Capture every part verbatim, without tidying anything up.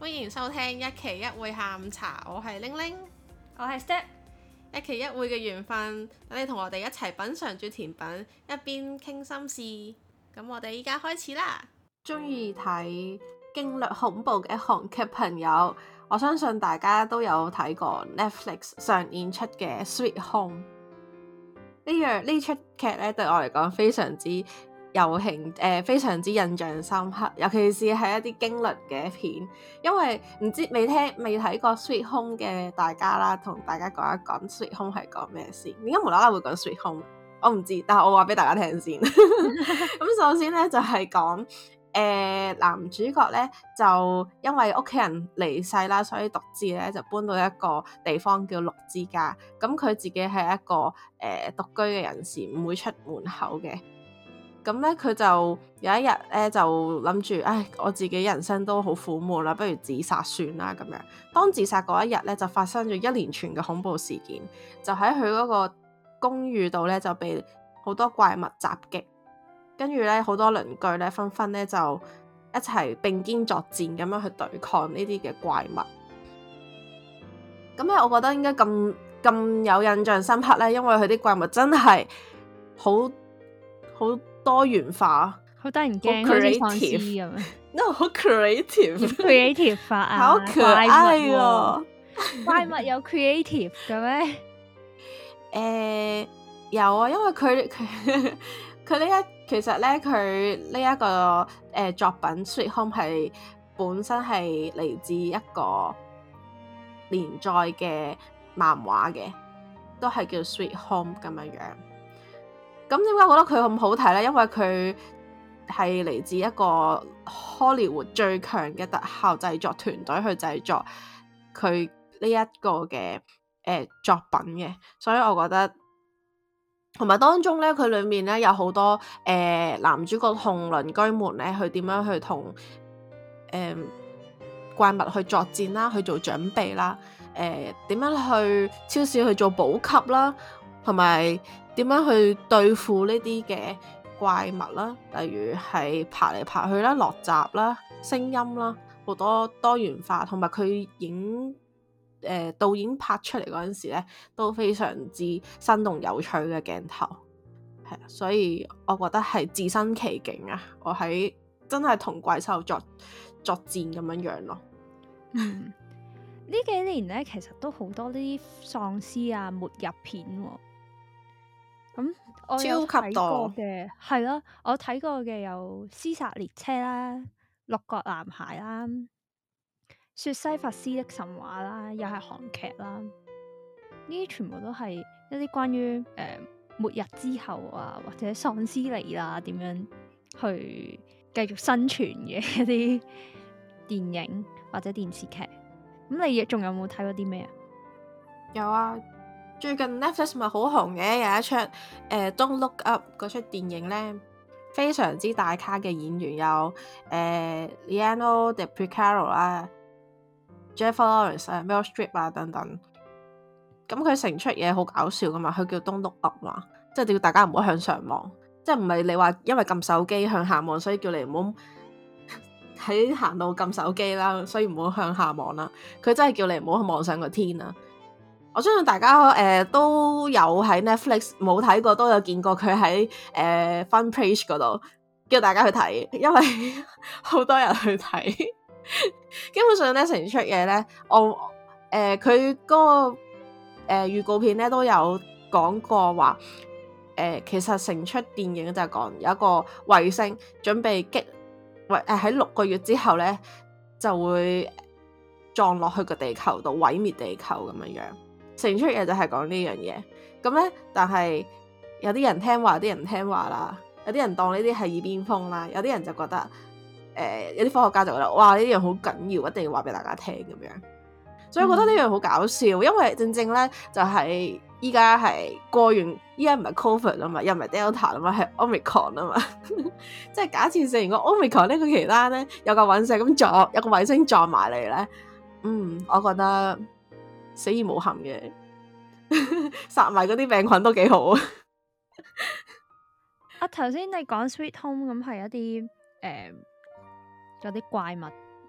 歡迎收聽一期一會下午茶，我係玲玲， 我係 Step， 一期一會嘅緣分，等你同我哋一齊品嚐住甜品，一邊傾心事。咁我哋依家開始啦。中意睇驚慄恐怖嘅韓劇朋友，我相信大家都有睇過 Netflix 上演出嘅《Sweet Home》呢樣呢出劇咧，對我嚟講非常之有興誒、呃，非常之印象深刻，尤其是係一啲驚慄嘅片，因為唔知未聽未睇過 Sweet Home 嘅大家啦，同大家講一講 Sweet Home 係講咩先？點解無啦啦會講 Sweet Home？我唔知，但係我話俾大家聽先。咁首先咧就係講誒男主角咧就因為屋企人離世啦，所以獨自咧就搬到一個地方叫綠之家。咁佢自己係一個誒、呃、獨居嘅人士，唔會出門口嘅。咁咧佢就有一日咧就諗住，唉，我自己人生都好苦悶啦，不如自殺算啦咁樣。當自殺嗰一日咧，就發生咗一連串嘅恐怖事件，就喺佢嗰個公寓度咧就被好多怪物襲擊，跟住咧好多鄰居咧紛紛咧就一齊並肩作戰咁樣去對抗呢啲嘅怪物。咁咧，我覺得應該咁咁有印象深刻咧，因為佢啲怪物真係好好多元化， 好得人驚，好似喪屍咁樣。 no 好 creative，creative 化啊， 好可愛啊！ 怪物有 creative 嘅咩？ 誒、呃、有啊，因為佢佢佢呢一其實咧，佢呢一個誒、呃、作品《Sweet Home》係本身係嚟自一個連載嘅漫畫嘅，都係叫《Sweet Home》咁樣樣。咁點解覺得佢咁好睇咧？因為佢係嚟自一個 Hollywood 最強嘅特效製作團隊去製作佢呢一個嘅誒、呃、作品嘅，所以我覺得同埋當中咧，佢裡面咧有好多誒、呃、男主角同鄰居們咧，去點樣去同誒、呃、怪物去作戰啦，去做準備啦，誒、呃、點樣去超市去做補給啦，同埋點樣去對付呢啲嘅怪物啦，例如係爬嚟爬去啦、落閘啦、聲音啦，好多多元化，同埋佢影誒、呃、導演拍出嚟嗰陣時咧，都非常之生動有趣嘅鏡頭，係啊，所以我覺得係置身其境啊！我喺真係同怪獸作作戰咁樣樣咯。 嗯，呢幾年咧，其實都好多呢啲喪屍啊、末日片喎、哦。咁我有睇過嘅係咯，我睇過嘅有《屍殺列車》啦，《六角男孩》啦，《雪西弗斯的神話》啦，又係韓劇啦。呢啲全部都係一啲關於誒、呃、末日之後啊，或者喪屍嚟啦，點樣去繼續生存嘅一啲電影或者電視劇。咁你仲有冇睇過啲咩啊？ 有啊。最近 Netflix 咪好紅嘅，有一出誒、呃、Don't Look Up 嗰出電影咧，非常之大咖嘅演員有誒、呃、Leonardo DiCaprio 啦、Jennifer Lawrence 啊、Meryl Streep 啊等等。咁佢成出嘢好搞笑噶嘛，佢叫 Don't Look Up 嘛，即係叫大家唔好向上望，即係唔係你話因為撳手機向下望，所以叫你唔好喺行路撳手機啦，所以唔好向下望啦。佢真係叫你唔好望上個天啊！我相信大家誒、呃、都有喺 Netflix 冇睇過，都有見過佢喺誒 Fun Page 嗰度叫大家去睇，因為好多人去睇。基本上咧，成出嘢咧，我誒佢嗰個誒、呃、預告片咧都有講過話，誒、呃、其實成出電影就係講有一個衛星準備擊誒喺六個月之後咧就會撞落去個地球度毀滅地球咁樣樣。成出嘢就係講呢樣嘢，咁咧，但係有啲人聽話，有啲人唔聽話啦，有啲人當呢啲係耳邊風啦，有啲人就覺得，誒、呃，有啲科學家就覺得，哇，呢樣好緊要，一定要話俾大家聽咁樣，所以我覺得呢樣好搞笑，嗯、因為正正咧就係依家係過完，依家唔係 Covid 啊嘛，又唔係 Delta 啊嘛，係 Omicron 啊嘛，即係假設成個 Omicron 呢個期間咧，有個隕石咁撞，有個衛星撞埋嚟咧，嗯，我覺得。死而無憾嘅，殺埋嗰啲病菌都幾好啊！ 啊，頭先你講 Sweet Home 咁係一啲誒，有啲怪物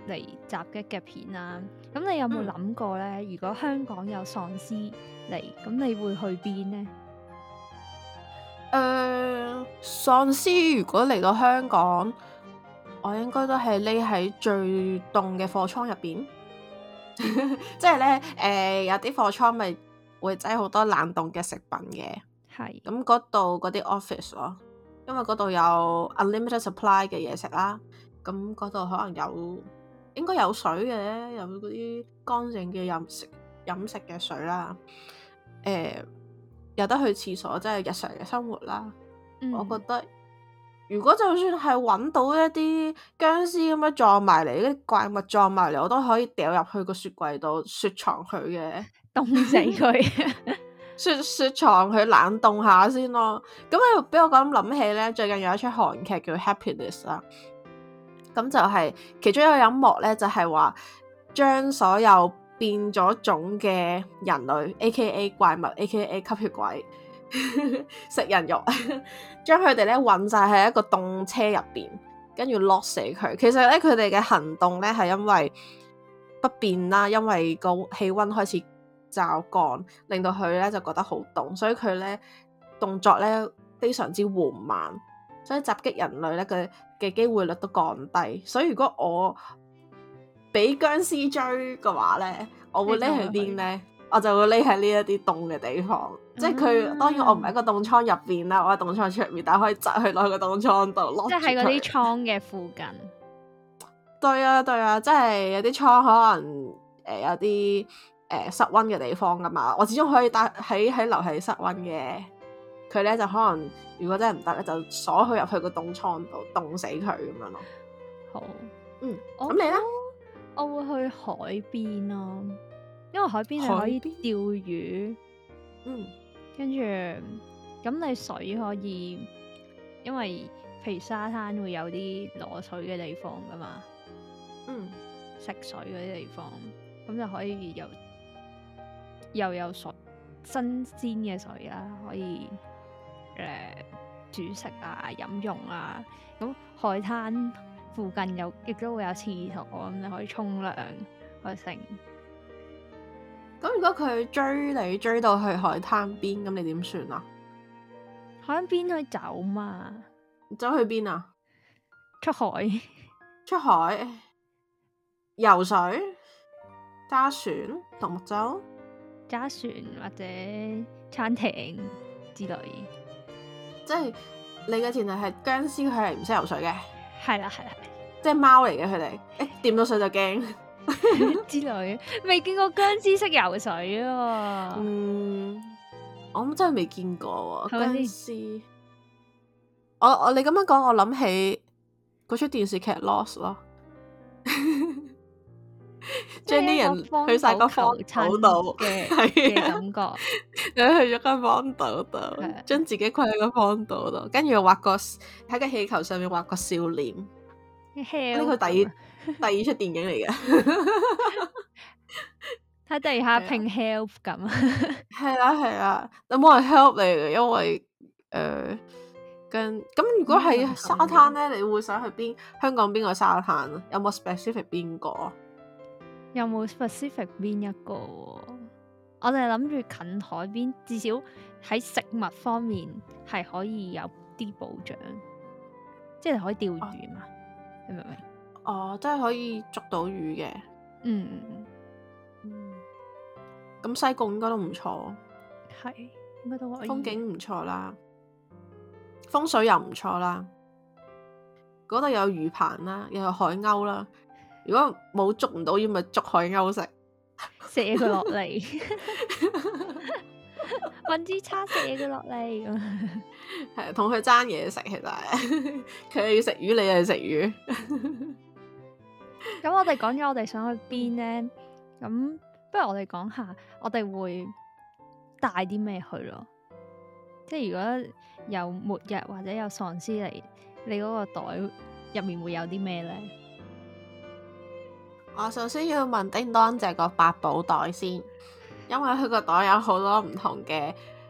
嚟襲擊嘅片啦。咁你有冇諗過咧？嗯、如果香港有喪屍嚟，咁你會去邊呢？ 誒、呃，喪屍如果嚟到香港，我應該都係匿喺最凍嘅貨倉入邊。即係咧，誒、呃，有啲貨倉咪會擠好多冷凍嘅食品嘅，係咁嗰度嗰啲 office 咯，因為嗰度有 unlimited supply 嘅嘢食啦，咁嗰度可能有應該有水嘅，有嗰啲乾淨嘅飲食飲食嘅水啦，誒、呃，有得去廁所，即係日常嘅生活啦。嗯、我覺得如果就算係揾到一啲僵屍咁樣撞埋嚟，啲怪物撞埋嚟，我都可以掉入去個雪櫃度雪藏佢嘅， 凍死佢， 雪雪藏佢冷凍下先咯。咁啊，俾我咁諗起咧，最近有一出韓劇叫《Happiness》啦，咁就係其中一個音幕咧，就係話將所有變咗種嘅人類 A K A 怪物 A K A 吸血鬼食人肉，將佢哋咧運晒喺一個凍車入邊，跟住 lock 死佢。其實咧，佢哋嘅行動咧係因為不便啦，因為個氣溫開始驟降，令到佢咧就覺得好凍，所以佢咧動作咧非常之緩慢，所以襲擊人類咧嘅嘅機會率都降低。所以如果我俾僵屍追嘅話咧，我會匿去邊咧？我就會匿喺呢一啲凍嘅地方，嗯、即係佢當然我唔喺個凍倉入邊啦，我喺凍倉出面，但係可以擠去攞個凍倉度攞。即係喺嗰啲倉嘅附近。 對啊對啊，即係有啲倉可能誒、呃、有啲誒、呃、室溫嘅地方噶嘛，我始終可以帶喺喺留喺室溫嘅。佢咧就可能如果真係唔得咧，就鎖佢入去個凍倉度凍死佢咁樣咯。 好， 嗯，咁你咧？ 我會去海邊咯、啊。因為海邊你可以釣魚，嗯，跟住咁你水可以，因為譬如沙灘會有啲攞水嘅地方噶嘛，嗯，食水嗰啲地方，咁就可以有又有水新鮮嘅水啦，可以誒、呃、煮食啊、飲用啊，咁海灘附近有亦都會有廁所，咁你可以沖涼去食。 咁如果佢追你追到去海灘邊，咁你點算啊？ 海灘邊可以走嘛？ 走去邊啊？ 出海？ 出海？游水？揸船？獨木舟？ 揸船或者餐艇之類。 即係你嘅前提係僵屍，佢係唔識游水嘅。 係啦係啦， 即係貓嚟嘅佢哋，誒掂到水就驚。 之類，未見過僵屍識游水啊！ 嗯，我真係未見過僵屍。 吧我我你咁樣講，我諗起嗰出電視劇 Lost 咯，將啲人去晒個荒島度嘅嘅感覺，你去咗間荒島度，將自己困喺個荒島度，跟住畫個喺個氣球上面畫個笑臉。呢個第二第二出電影嚟嘅， 喺地下拼 help 咁。 係啊係啊，有冇人 help 你嘅？因為誒，跟咁如果係沙灘咧，你會想去邊？香港邊個沙灘啊？有冇 specific 邊個？ 有冇 specific 邊一個？我哋諗住近海邊，至少喺食物方面係可以有啲保障，即係可以釣魚嘛。啊你明唔明？ 哦，真係可以捉到魚嘅。嗯嗯，咁西貢應該都唔錯， 係應該都可以。 風景唔錯啦，風水又唔錯啦，嗰度有魚棚啦，又有海鷗啦。如果冇捉唔到魚，咪捉海鷗食， 射佢落嚟，搵支叉射佢落嚟。 係同佢爭嘢食，其實係佢要食魚，你又要食魚。 咁我哋講咗我哋想去邊呢？咁不如我哋講下我哋會帶啲咩去咯？即係如果有末日或者有喪屍嚟，你嗰個袋入面會有啲咩呢？ 我首先要問叮當借個八寶袋先，因為佢個袋有好多唔同嘅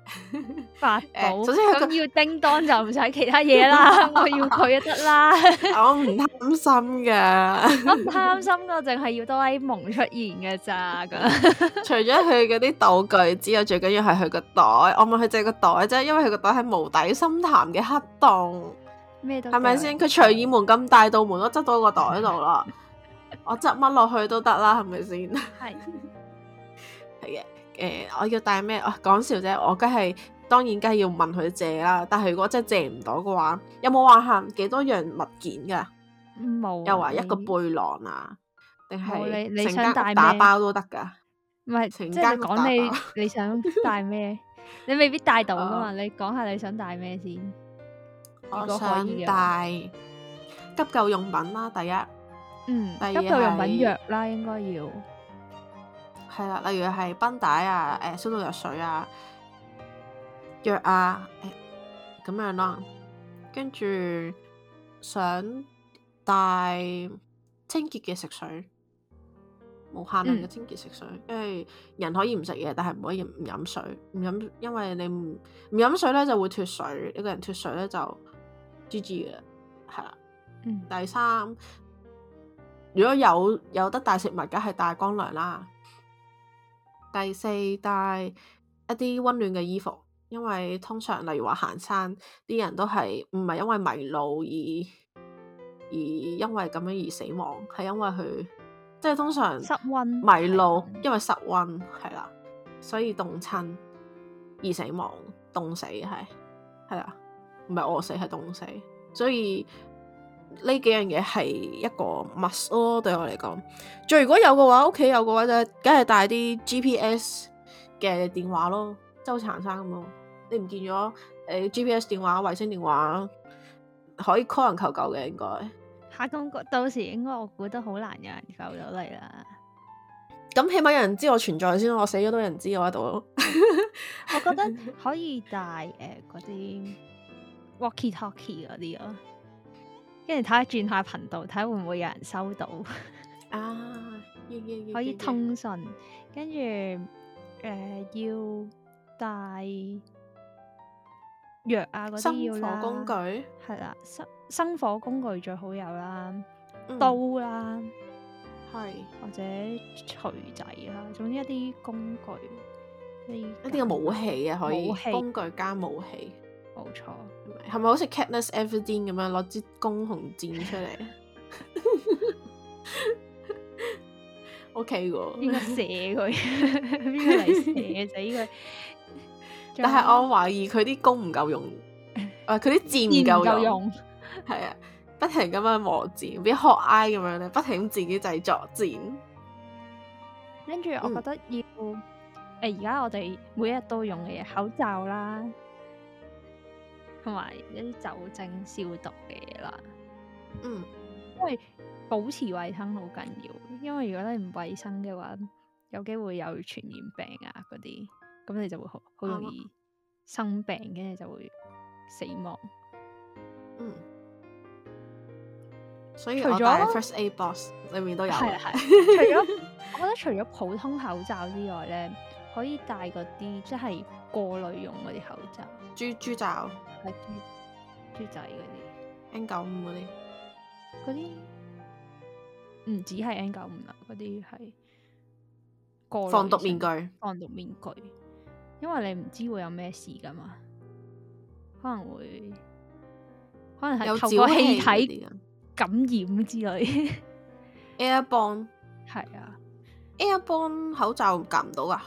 法寶， 首先佢咁要叮當就唔使其他嘢啦，我要佢就得啦。 我唔貪心噶， 我唔貪心噶，淨係要哆啦 A 夢出現嘅咋咁。 除咗佢嗰啲道具之外，最緊要係佢個袋。我問佢借個袋啫，因為佢個袋係無底深潭嘅黑洞， 咩都係咪先？佢隨意門咁大道門都執到個袋度啦，我執乜落去都得啦，係咪先？ 係係嘅。誒、呃，我要帶咩？啊，講笑啫，我梗係當然梗係要問佢借啦。但係如果真係借唔到嘅話，有冇話限幾多樣物件噶？ 冇、啊。 又話一個背囊啊，定係你成間屋打包都得噶？ 唔係，即係講你你想帶咩？你未必帶到噶嘛？你講下你想帶咩先？ 我想帶急救用品啦，第一， 嗯，第二急救用品藥啦，應該要係啦，例如係繃帶啊、誒消毒藥水啊、藥啊，誒咁樣啦。跟住想帶清潔嘅食水，無限量嘅清潔食水，嗯、因為人可以唔食嘢，但係唔可以唔飲水，唔飲，因為你唔唔飲水咧就會脫水，一個人脫水咧就 G G 嘅，係啦。 嗯、 第三，如果有有得帶食物，梗係帶乾糧啦。第四，帶一啲溫暖嘅衣服，因為通常例如話行山，啲人都係唔係因為迷路而而因為咁樣而死亡，係因為佢即係通常失溫迷路，因為失溫係啦，所以凍親而死亡，凍死係係啦，唔係餓死係凍死，所以呢幾樣嘢係一個 must 咯，對我嚟講。最如果有嘅話，屋企有嘅話就梗係帶啲 G P S 嘅電話咯，周行山咁咯。你唔見咗誒、呃、G P S 電話、衛星電話可以 call 人求救嘅，應該嚇咁到時應該我估得好難有人救到你啦。 咁起碼有人知我存在先，我死咗都有人知我喺度。 我覺得可以帶誒嗰啲 walkie talkie 嗰啲咯。跟住睇下轉下頻道，睇下會唔會有人收到啊！Yeah, yeah, yeah, 可以通訊，跟住誒要帶藥啊嗰啲要啦。 生火工具係啦，生生火工具最好有啦， 嗯、 刀啦， 係或者錘仔啦，總之一啲工具， 一啲嘅武器啊，可以武器工具加武器。 冇錯， 係咪好似 Katniss Everdeen 咁樣攞支弓同箭出嚟？O K 喎， 邊個射佢？邊個嚟射死佢？ 但係我懷疑佢啲弓唔夠用，誒佢啲箭唔夠用，係啊，不停咁樣磨箭，比學 I 咁樣咧，不停自己製作箭。 跟住我覺得要誒，而家、嗯呃、我哋每一日都用嘅嘢，口罩啦。同埋一啲酒精消毒嘅嘢啦， 嗯， 因為保持衛生好緊要。因為如果你唔衛生嘅話，有機會有傳染病啊嗰啲，咁你就會好好容易生病，跟住、嗯、就會死亡。 嗯，所以我帶 First Aid Box 裏面都有。 係係，除咗我覺得除咗普通口罩之外咧，可以帶嗰啲即係過濾用嗰啲口罩， 豬豬罩。 係豬豬仔嗰啲 N 九五嗰啲， 嗰啲唔止係 N 九五啦，嗰啲係過防毒面具， 防毒面具，因為你唔知會有咩事噶嘛，可能會可能係透過氣體感染之類。 Airborne 係啊 ，Airborne 口罩夾唔到噶。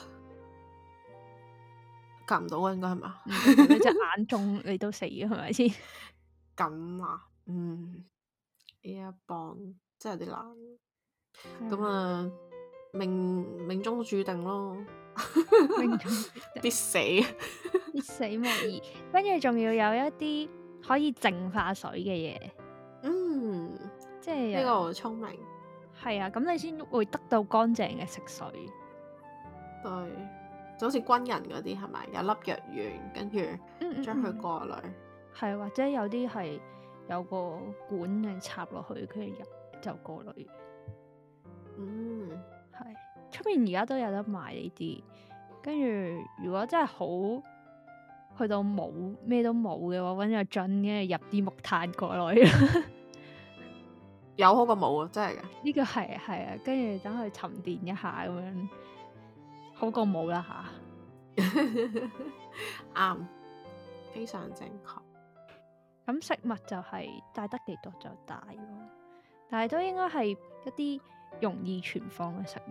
夾唔到啊，應該係嘛？ 你隻眼中你都死嘅係咪先？ 咁啊，嗯，Airborne 真係有啲難。咁啊，命命中注定咯， 命中注定必死， 必死無疑。跟住仲要有一啲可以淨化水嘅嘢。 嗯， 即係呢個好聰明。 係啊，咁你先會得到乾淨嘅食水。 對。就好似軍人嗰啲係咪有粒藥丸，跟住將佢過濾， 係、嗯嗯、或者有啲係有個管嘅插落去，跟住入就過濾。嗯，係出面而家都有得賣呢啲，跟住如果真係好去到冇咩都冇嘅話，揾個樽跟住入啲木炭過落去。 有好過冇啊！真係嘅。 呢個係啊係啊，跟住等佢沉澱一下咁樣，好過冇啦吓。 啱，非常正確。 咁食物就係帶得幾多就帶咯，但係都應該係一啲容易存放嘅食物，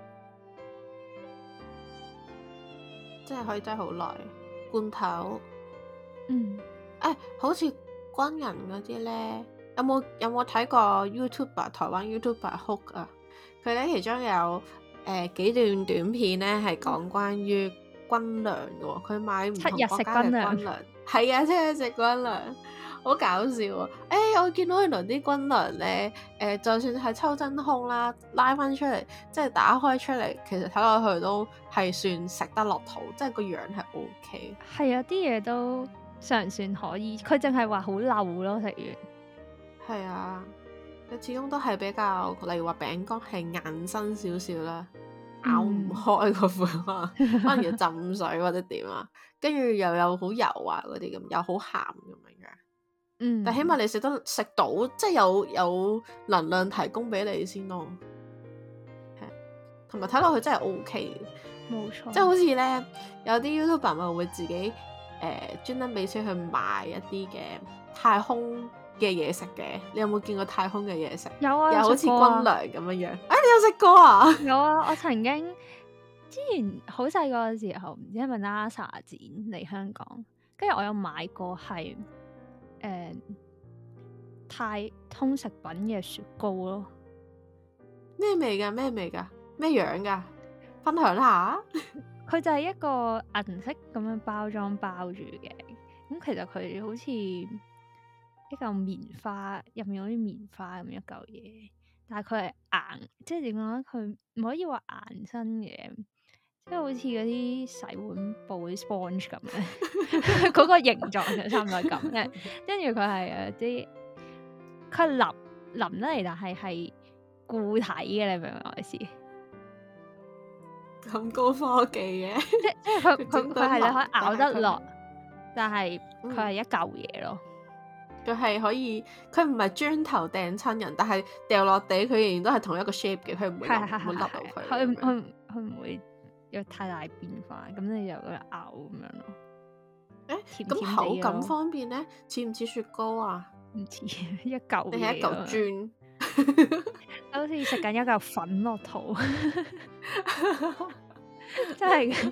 即係可以擠好耐。罐頭， 嗯， 誒、欸，好似軍人嗰啲咧，有冇有冇睇過 YouTuber 台灣 YouTuber Hook 啊？佢咧其中有誒、呃、幾段短片咧係講關於軍糧嘅喎，佢買唔同國家嘅軍糧，係啊，七日食軍糧。好搞笑啊！誒、欸，我見到原來啲軍糧咧，誒、呃，就算係抽真空啦，拉翻出嚟，即係打開出嚟，其實睇落去都係算食得落肚，即係個樣係 O K。 係啊，啲嘢都尚算可以，佢淨係話好漏咯，食完。 係啊，佢始終都係比較，例如話餅乾係硬身少少啦，咬唔開個款啊，嗯、可能要浸水或者點啊，跟住又有好油啊嗰啲咁，又好鹹咁樣樣。 嗯， 但起碼你食得食到，即係有有能量提供俾你先咯。係，同埋睇落去真係 O K 嘅， 冇錯。 即係好似咧，有啲 YouTuber 咪會自己誒專登俾錢去買一啲嘅太空嘅嘢食嘅。你有冇見過太空嘅嘢食？ 有啊， 又好似軍糧咁樣樣。啊，你有食過啊？ 有啊，我曾經之前好細個嘅時候，唔知係咪 NASA 展嚟香港，跟住我有買過係。誒、嗯，太空食品嘅雪糕咯， 咩味噶？咩味噶？咩樣噶？分享下。 佢就係一個銀色咁樣包裝包住嘅，咁其實佢好似一嚿棉花，入面好似棉花咁一嚿嘢，但係佢係硬，即係點講咧？佢唔可以話硬身嘅，即係好似嗰啲洗碗布啲 sponge 咁咧，嗰個形狀就差唔多咁咧。跟住佢係誒啲，佢腍腍得嚟，但係係固體嘅，你明唔明我意思？ 咁高科技嘅， 即即係佢佢佢係你可以咬得落，但係佢係一嚿嘢咯。 佢係可以，佢唔係磚頭掟親人，但係掉落地佢仍然都係同一個 shape 嘅，佢唔會唔會甩到佢。 佢佢佢唔會有太大變化，咁你就咬咁樣咯。 誒，咁口感方面咧，似唔似雪糕啊？ 唔似一嚿， 定係一嚿磚？ 好似食緊一嚿粉落肚，真係嘅。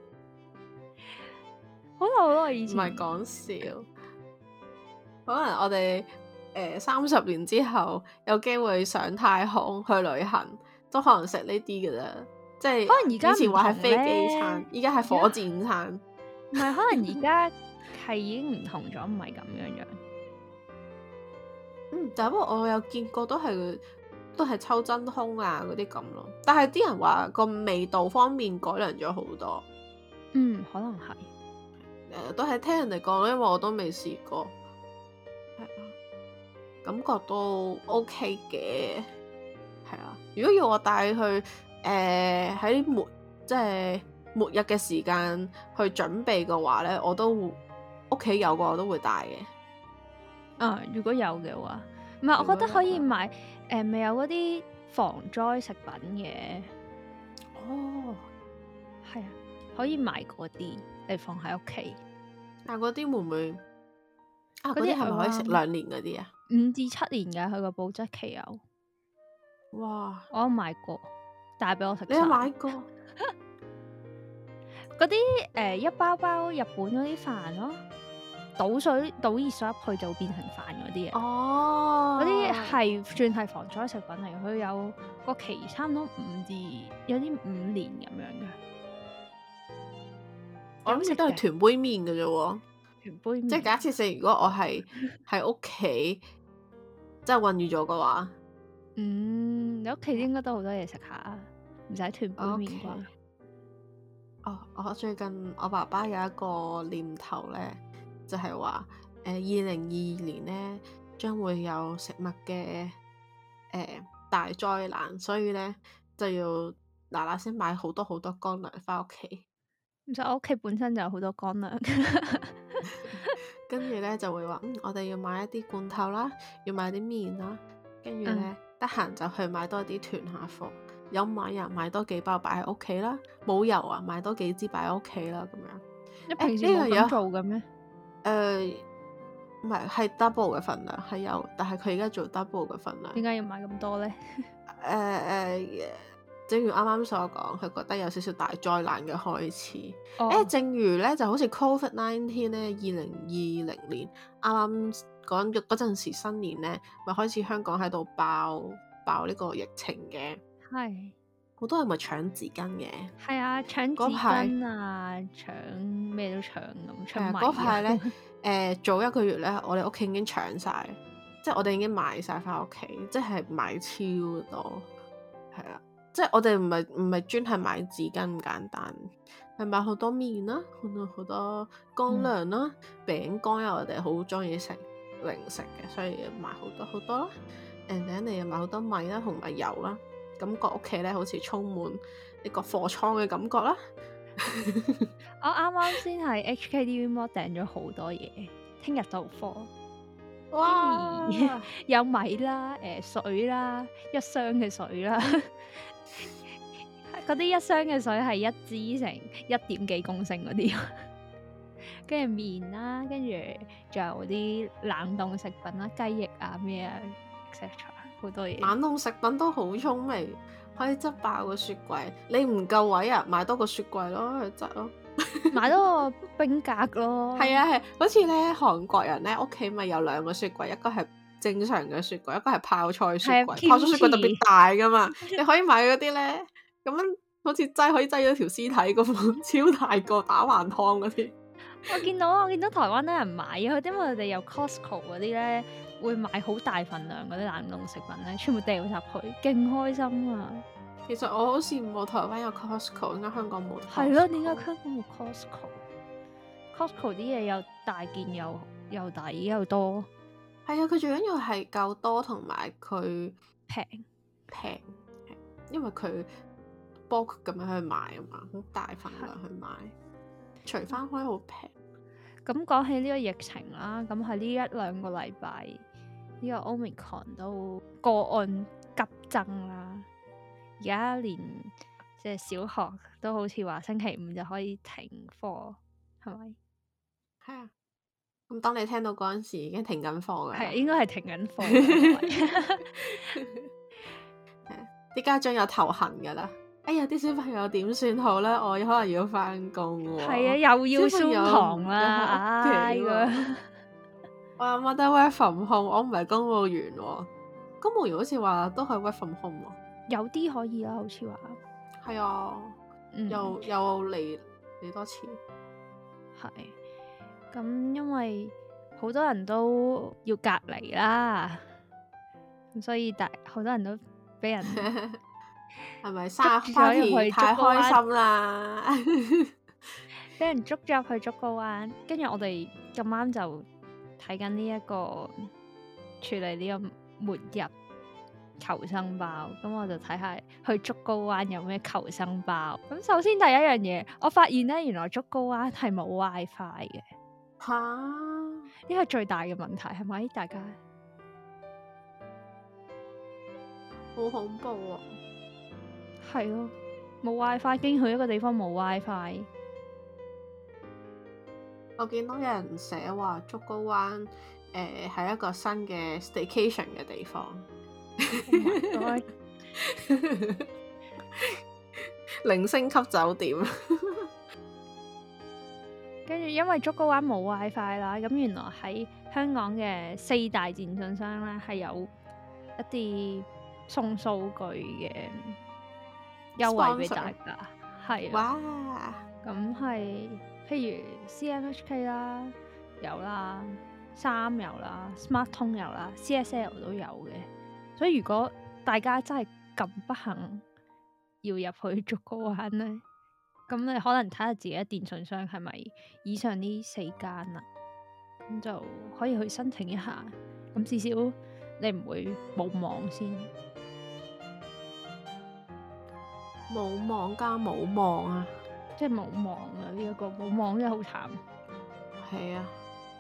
好耐好耐以前， 唔係講笑。可能我哋誒三十年之後有機會上太空去旅行，都可能食呢啲嘅啫。即係可能而家以前話係飛機餐，依家係火箭餐。 唔係，可能而家係已經唔同咗，唔係咁樣樣。 嗯，但不過我有見過都係都係抽真空啊嗰啲咁咯。但係啲人話個味道方面改良咗好多。 嗯，可能係。誒、 呃，都係聽人哋講，因為我都未試過。係啊，感覺都 OK 嘅。係啊，如果要我帶去誒喺、呃、末即係末日嘅時間去準備嘅話咧，我都屋企有個我都會帶嘅。 啊，如果有嘅話，唔係，我覺得可以買誒，咪、呃、有嗰啲防災食品嘅。 哦， 係啊，可以買嗰啲嚟放喺屋企。 但嗰啲會唔會啊？嗰啲係咪可以食兩年嗰啲啊？ 五至七年嘅，佢個保質期有。 哇！ 我有買過，帶俾我食。 你有買過？ 嗰啲誒一包包日本嗰啲飯咯，倒水倒熱水入去就變成飯嗰啲嘢。 哦， 嗰啲係算係防災食品嚟，佢有個期差唔多五至有啲五年咁樣嘅。 我諗食都係團杯麵嘅啫喎， 團杯麵。即係假設性，如果我係喺屋企，即係困住咗嘅話， 嗯，你屋企應該都好多嘢食下，唔使團杯麵啩。Okay. 哦，我最近我爸爸有一個念頭咧，就係話誒二零二二年咧將會有食物嘅誒、呃、大災難，所以咧就要嗱嗱聲買好多好多乾糧翻屋企。 其實我屋企本身就有好多乾糧， 跟住咧就會話嗯，我哋要買一啲罐頭啦，要買啲麵啦，跟住咧得閒就去買多啲囤下貨。有米啊，買多幾包擺喺屋企啦；冇油啊，買多幾支擺喺屋企啦。咁樣你平時誒呢樣嘢冇咁做嘅咩？ 誒唔係係 double 嘅份量係有，但係佢而家做 double 嘅份量。 點解要買咁多咧？ 誒誒、呃，正如啱啱所講，佢覺得有少少大災難嘅開始。誒、 哦欸，正如咧就好似 Covid nineteen 咧，二零二零年啱啱講嗰陣時新年咧，咪開始香港喺度爆爆呢個疫情嘅， 係好多人咪搶紙巾嘅。 係啊，搶紙嗰排巾啊，搶咩都搶咁，搶米嗰排咧啊， 誒早一個月咧，我哋屋企已經搶晒，即係我哋已經買晒翻屋企，即係買超多，係啦。即係我哋唔係唔係專係買紙巾咁簡單，係買好多麵啦，好多好多乾糧啦、餅乾啊，我哋好中意食零食嘅，所以買好多好多啦。誒，第一你又買好多米啦，同埋油啦，感覺屋企咧好似充滿呢個貨倉嘅感覺啦。 我啱啱先喺 H K D V Mall 訂咗好多嘢，聽日到貨。 哇！ 有米啦，誒、水啦，一箱嘅水啦，嗰啲一箱嘅水係一支成一點幾公升嗰啲，跟住麵啦，跟住仲有啲冷凍食品啦，雞翼啊咩啊 et cetera 好多嘢。 冷凍食品都好聰明，可以執爆個雪櫃。你唔夠位啊，買多個雪櫃咯，去執咯。 買多個冰格咯。 係啊係，好似咧韓國人咧屋企咪有兩個雪櫃，一個係正常嘅雪櫃，一個係泡菜雪櫃。 係泡菜雪櫃特別大噶嘛，你可以買嗰啲咧，咁樣好似擠可以擠咗條屍體咁，超大個打橫湯嗰啲。 我見到我見到台灣啲人買啊，因為佢哋有 Costco 嗰啲咧，會買好大份量嗰啲冷凍食品咧，全部掉入去，勁開心啊！ 其實我好羨慕台灣有 Costco，點解香港冇？ 係咯，點解香港冇 Costco？Costco 啲嘢又大件又又抵又多。 係啊，佢最緊要係夠多同埋佢平平，因為佢 bulk 咁樣去買啊嘛，好大份量去買，除翻開好平。 咁講起呢個疫情啦，咁喺呢一兩個禮拜，呢、這個 Omicron 都個案急增啦。而家連即係小學都好似話星期五就可以停課，係咪？ 係啊。咁當你聽到嗰陣時，已經停緊課㗎。 係應該係停緊課。 啲家長有頭痕㗎啦。哎呀，啲小朋友點算好咧？我可能要翻工喎。 係啊，又要上堂啦，唉咁。 我阿媽得 work from home，我唔係公務員喎。公務員好似話都係 work from home 喎。 有啲可以啦，好似話。 係啊， 嗯、 又又嚟嚟多次。 係。咁因為好多人都要隔離啦，咁所以大好多人都俾人係咪生日 party 太開心啦？ 俾人捉咗入去竹篙灣，跟住我哋咁啱就睇緊呢一個處理呢個末日求生包，咁我就睇下去竹篙灣有咩求生包。咁首先第一樣嘢，我發現咧原來竹篙灣係冇 WiFi 嘅。 吓， 呢個最大嘅問題係咪？大家好恐怖啊！ 係咯，冇 WiFi，經去一個地方冇 WiFi。 我見到有人寫話竹篙灣誒係一個新嘅 staycation 嘅地方。 Oh my God 零星級酒店。 跟住因為竹篙灣冇 WiFi 啦，咁原來喺香港嘅四大電信商咧係有一啲送數據嘅優惠俾大家，係啊， 哇！ 咁係譬如 C M H K 啦，有啦，三有啦，Smart 通有啦，C S L 都有嘅，所以如果大家真係咁不幸要入去竹篙灣咧，咁你可能睇下自己嘅電信商係咪以上呢四間啦，咁就可以去申請一下，咁至少你唔會冇網先。 冇網加冇網啊！ 即係冇網啊！呢、這、一個冇網真係好慘。 係啊。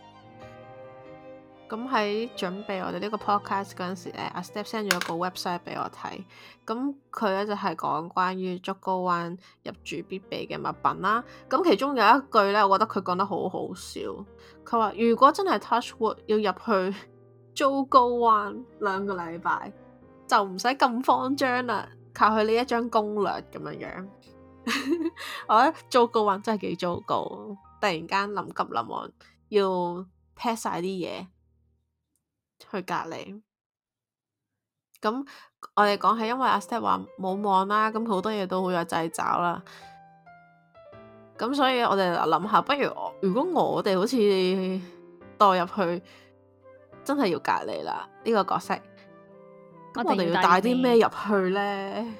咁喺準備我哋呢個 podcast 嗰陣時咧，阿 Step send 咗個 website 俾我睇。咁佢咧就係、是、講關於竹篙灣入住必備嘅物品啦。咁其中有一句咧，我覺得佢講得好好笑。佢話：如果真係 touch wood 要入去竹篙灣兩個禮拜，就唔使咁慌張啦，靠佢呢一張攻略咁樣樣。我覺得竹篙灣真係幾糟糕，突然間臨急臨忙要 pack 晒啲嘢去隔離。咁我哋講係因為阿 Step 話冇網啦，咁好多嘢都好有掣肘啦。咁所以我哋諗下，不如我如果我哋好似代入去，真係要隔離啦呢個角色，咁我哋要帶啲咩入去呢？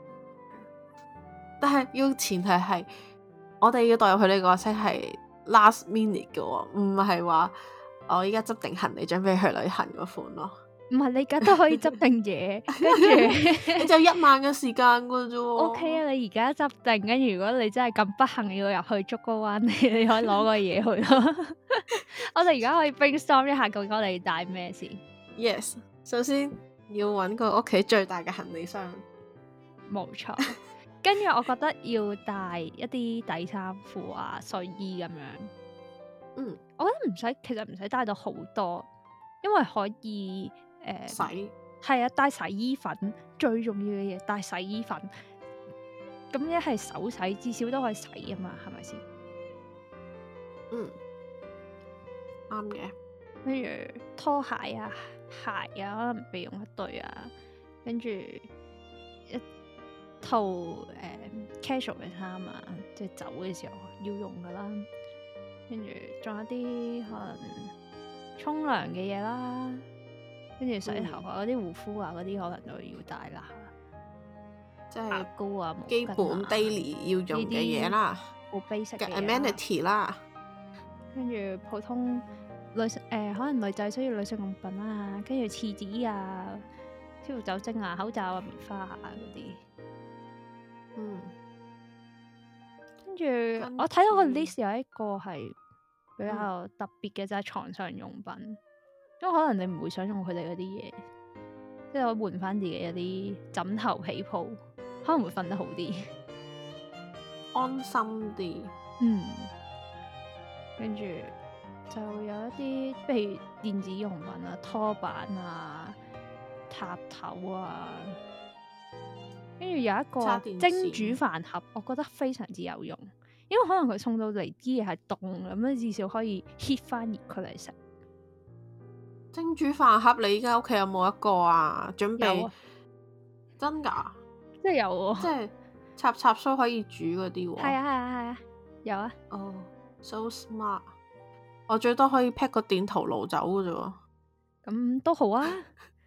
但係要前提係我哋要代入去呢個角色係 last minute 嘅喎，唔係話我依家執定行李準備去旅行嗰款咯。 唔係你而家都可以執定嘢，跟住你就一晚嘅時間嘅啫。 O K 啊，你而家執定，跟住如果你真係咁不幸要入去竹篙灣，你你可以攞個嘢去咯。我哋而家可以 brainstorm 一下，究竟我哋要帶咩先 ？Yes，首先要揾個屋企最大嘅行李箱， 冇錯。跟住我覺得要帶一啲底衫褲啊、睡衣咁樣。 嗯， 我覺得唔使，其實唔使帶到好多，因為可以。誒、呃、 洗係啊，帶洗衣粉最重要嘅嘢，帶洗衣粉。咁一係手洗，至少都可以洗啊嘛，係咪先？ 嗯，啱嘅。 跟住拖鞋啊、鞋啊，可能備用一對啊。跟住一套誒、呃、casual 嘅衫啊，即係走嘅時候要用噶啦。跟住仲有啲可能沖涼嘅嘢啦。跟住洗頭啊，嗰啲護膚啊，嗰啲可能都要帶啦， 即係牙膏啊， 基本 daily 要用嘅嘢啦， 好 basic 嘅 amenity 啦。 跟住普通女性誒、呃，可能女仔需要女性用品啊，跟住廁紙啊、消毒酒精啊、口罩啊、棉花啊嗰啲。 嗯。 跟住我睇到個 list 有一個係比較特別嘅，就係、是、床上用品。因為可能你唔會想用佢哋嗰啲嘢，即係我換翻自己一啲枕頭被鋪，可能會瞓得好啲， 安心啲。 嗯，跟住就有一啲，譬如電子用品啊、拖板啊、塔頭啊，跟住有一個蒸煮飯盒，我覺得非常之有用，因為可能佢送到嚟啲嘢係凍咁樣，至少可以 heat 翻熱佢嚟食。 蒸煮飯盒，你依家屋企有冇一個啊？準備有啊， 真噶， 即係有喎， 即係插插蘇可以煮嗰啲喎。 係啊係啊係啊，有啊。 哦、oh，so smart！我最多可以 pack 個電陶爐走嘅啫喎。 咁都好啊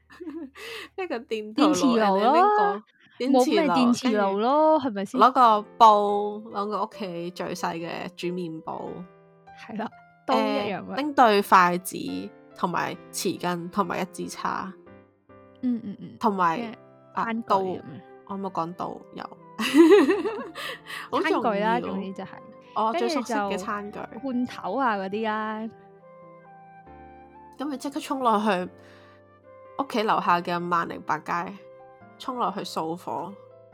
，pack 個電電磁爐咯，冇咩電磁爐咯，係咪先？ 攞個煲，攞個屋企最細嘅煮麵煲， 係啦，都一樣嘅。 拎、呃、對筷子。同埋匙羹，同埋一支叉， 嗯嗯嗯， 同埋啊刀，我冇講刀有，好餐具啦，總之就係我最熟悉嘅餐具， 罐頭啊嗰啲啦， 咁咪即刻衝落去屋企樓下嘅萬寧百佳，衝落去掃貨，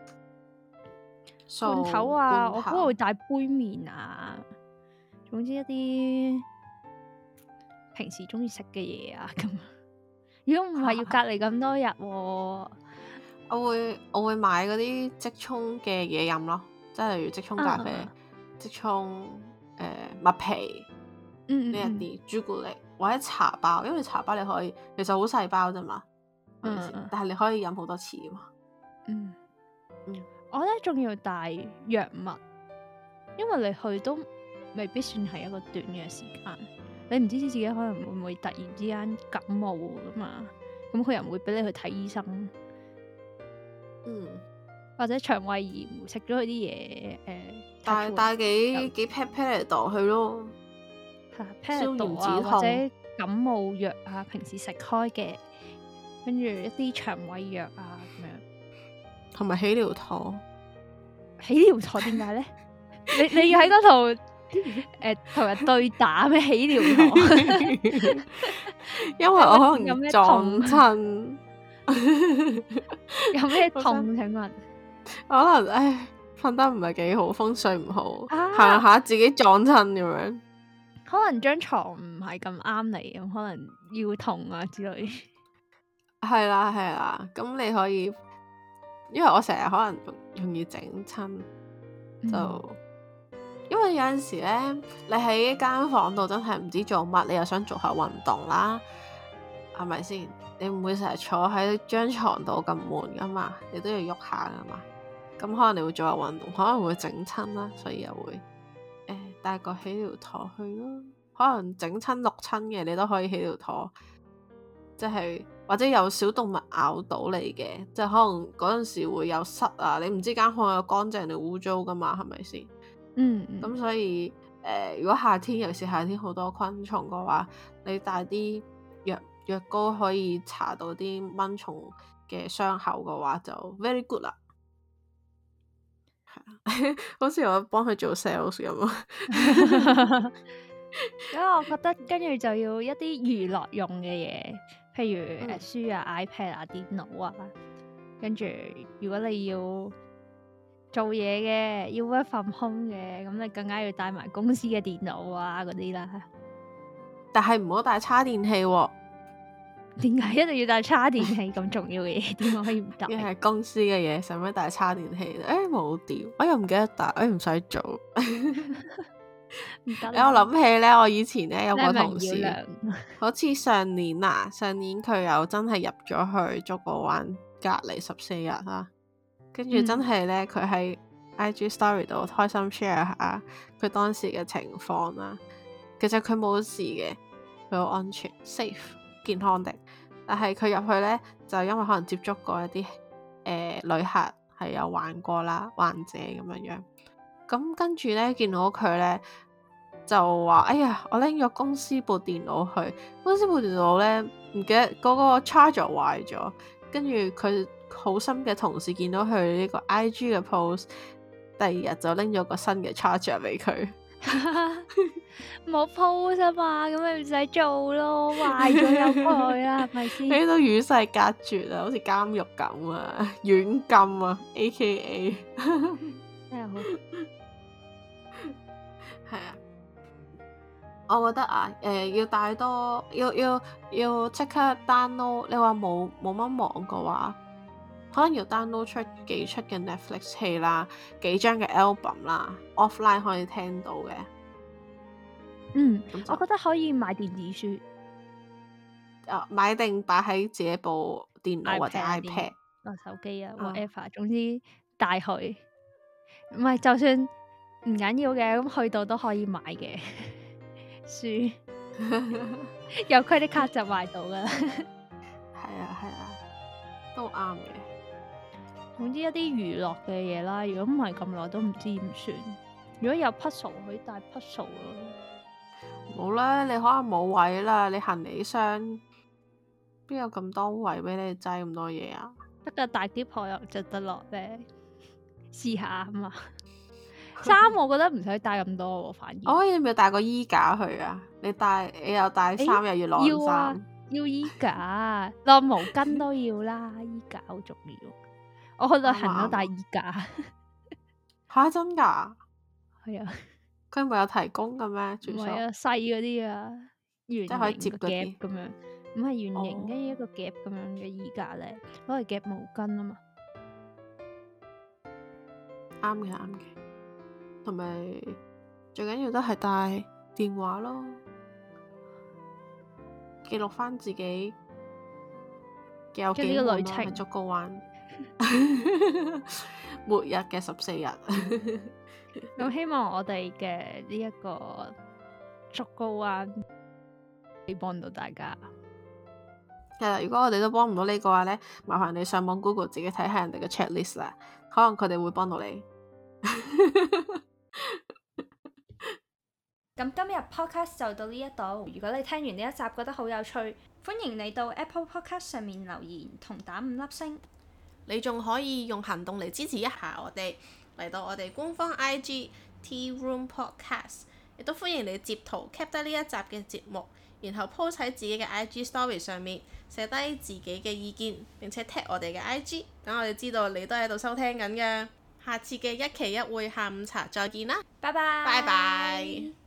罐頭啊，我嗰度會帶杯麵啊，總之一啲。平時中意食嘅嘢啊，咁如果唔係要隔離咁多日，啊， 我會我會買嗰啲即沖嘅嘢飲咯，即係例如即沖咖啡、啊、即沖誒麥皮呢一啲朱古力或者茶包，因為茶包你可以其實好細包啫嘛，嗯嗯但係你可以飲好多次啊嘛。 嗯嗯，我覺得仲要帶藥物，因為你去都未必算係一個短嘅時間。你唔知自己可能會唔會突然之間感冒噶嘛？咁佢又唔會俾你去睇醫生， 嗯， 或者腸胃炎食咗佢啲嘢，誒， 帶帶幾幾 pat pat 嚟度去咯， 係消炎止痛或者感冒藥啊，平時食開嘅，跟住一啲腸胃藥啊咁樣， 同埋起療妥， 起療妥點解咧？ 你你要喺嗰度誒同人對打咩？起療堂， 因為我可能撞親， 有咩痛？請問？ 可能唉，瞓得唔係幾好，風水唔好， 啊行下自己撞親咁樣。 可能張床唔係咁啱你，咁可能腰痛啊之類。 係啦係啦，咁你可以，因為我成日可能容易整親，就、嗯、因為有陣時咧，你喺間房度真係唔知做乜，你又想做下運動啦，係咪先？你唔會成日坐喺張床度咁悶噶嘛，你都要喐下噶嘛。咁可能你會做下運動，可能會整親啦，所以又會誒、欸、帶個起療陀去咯。可能整親六親嘅，你都可以起療陀，即係或者有小動物咬到你嘅，即係可能嗰陣時會有虱啊，你唔知間房有乾淨定污糟噶嘛，係咪先？ 嗯， 咁所以誒、呃，如果夏天尤其是夏天好多昆蟲嘅話，你帶啲藥藥膏可以搽到啲蚊蟲嘅傷口嘅話，就 very good 啦。好似我幫佢做 sales 咁啊！ 因為我覺得跟住就要一啲娛樂用嘅嘢，譬如誒、嗯、書啊、iPad 啊、電腦啊，跟住如果你要做嘢嘅，要 work from home 嘅，咁你更加要帶埋公司嘅電腦啊嗰啲啦。 但係唔好帶叉電器喎、啊。 點解一定要帶叉電器咁重要嘅嘢？點解可以唔帶？ 因為係公司嘅嘢，使乜帶叉電器？誒冇掉，我又唔記得帶，誒唔使做。唔得。我諗起咧，我以前咧有個同事，是是好似上年啊，上年佢又真係入咗去竹篙灣隔離十四日啦，跟住真係咧佢喺 I G Story 度開心 share 下佢當時嘅情況啦。其實佢冇事嘅，佢好安全 safe 健康的。但係佢入去咧，就因為可能接觸過一啲誒、呃、旅客係有患過啦，患者咁樣樣。咁跟住咧，見到佢咧就話：哎呀，我拎咗公司部電腦去，公司部電腦咧唔記得嗰個 charger 壞咗。跟住佢好心嘅同事見到佢呢個 I G 嘅 post，第二日就拎咗個新嘅 charger 俾佢。 冇 post 啊嘛，咁咪唔使做咯，壞咗有佢啦，係咪先？ 喺度與世隔絕啊，好似監獄咁啊，軟禁啊 ，A K A 真係好。 係啊，我覺得啊，誒、呃，要帶多，要要要即刻 download。你話冇冇乜網嘅話，可能要 download 出幾出嘅 Netflix 戲啦，幾張嘅 album 啦 ，offline 可以聽到嘅。 嗯，我覺得可以買電子書， 啊，買定擺喺自己部電腦或者 iPad、 啊手機啊 whatever，、啊、總之帶去。唔係，就算唔緊要嘅，咁去到都可以買嘅書，有 credit card 就買到噶啦。 係啊係啊，都啱嘅。 總之一啲娛樂嘅嘢啦，如果唔係咁耐都唔知點算。如果有 puzzle 可以帶 puzzle 咯。 冇啦，你可能冇位啦，你行李箱邊有咁多位俾你擠咁多嘢啊？ 得個大篋可又着得落咧，試下啊嘛。衫我覺得唔使帶咁多喎，反而。 我可以唔要帶個衣架去啊？你帶你又帶衫、欸、又要晾衫，要啊， 要衣架，晾毛巾都要啦，衣架好重要。我去旅行都帶衣架。 吓真噶？ 係啊。 佢唔係有提供嘅咩？ 唔係啊，細嗰啲啊，圓形可以接個夾咁樣，唔係圓形，跟住、哦、一個夾咁樣嘅衣架咧，攞嚟夾毛巾啊嘛。 啱嘅，啱嘅。同埋最緊要都係帶電話咯，記錄翻自己有幾個旅程喺竹篙灣，末日嘅十四日。 咁希望我哋嘅呢一個竹篙灣可以幫到大家。 係啦，如果我哋都幫唔到你嘅話咧，麻煩你上網 Google 自己睇下人哋嘅 checklist 啦，可能佢哋會幫到你。 咁今日 podcast 就到呢一度。如果你聽完呢一集覺得好有趣，歡迎你到 Apple Podcast 上面留言同打五粒星。 你仲可以用行動嚟支持一下我哋，嚟到我哋官方 I G Tea Room Podcast， 亦都歡迎你截圖 cap 低呢一集嘅節目，然後 post 喺自己嘅 I G story 上面寫低自己嘅意見，並且 tag 我哋嘅 I G， 等我哋知道你都喺度收聽緊嘅。下次嘅一期一會下午茶再見啦， 拜拜。 拜拜。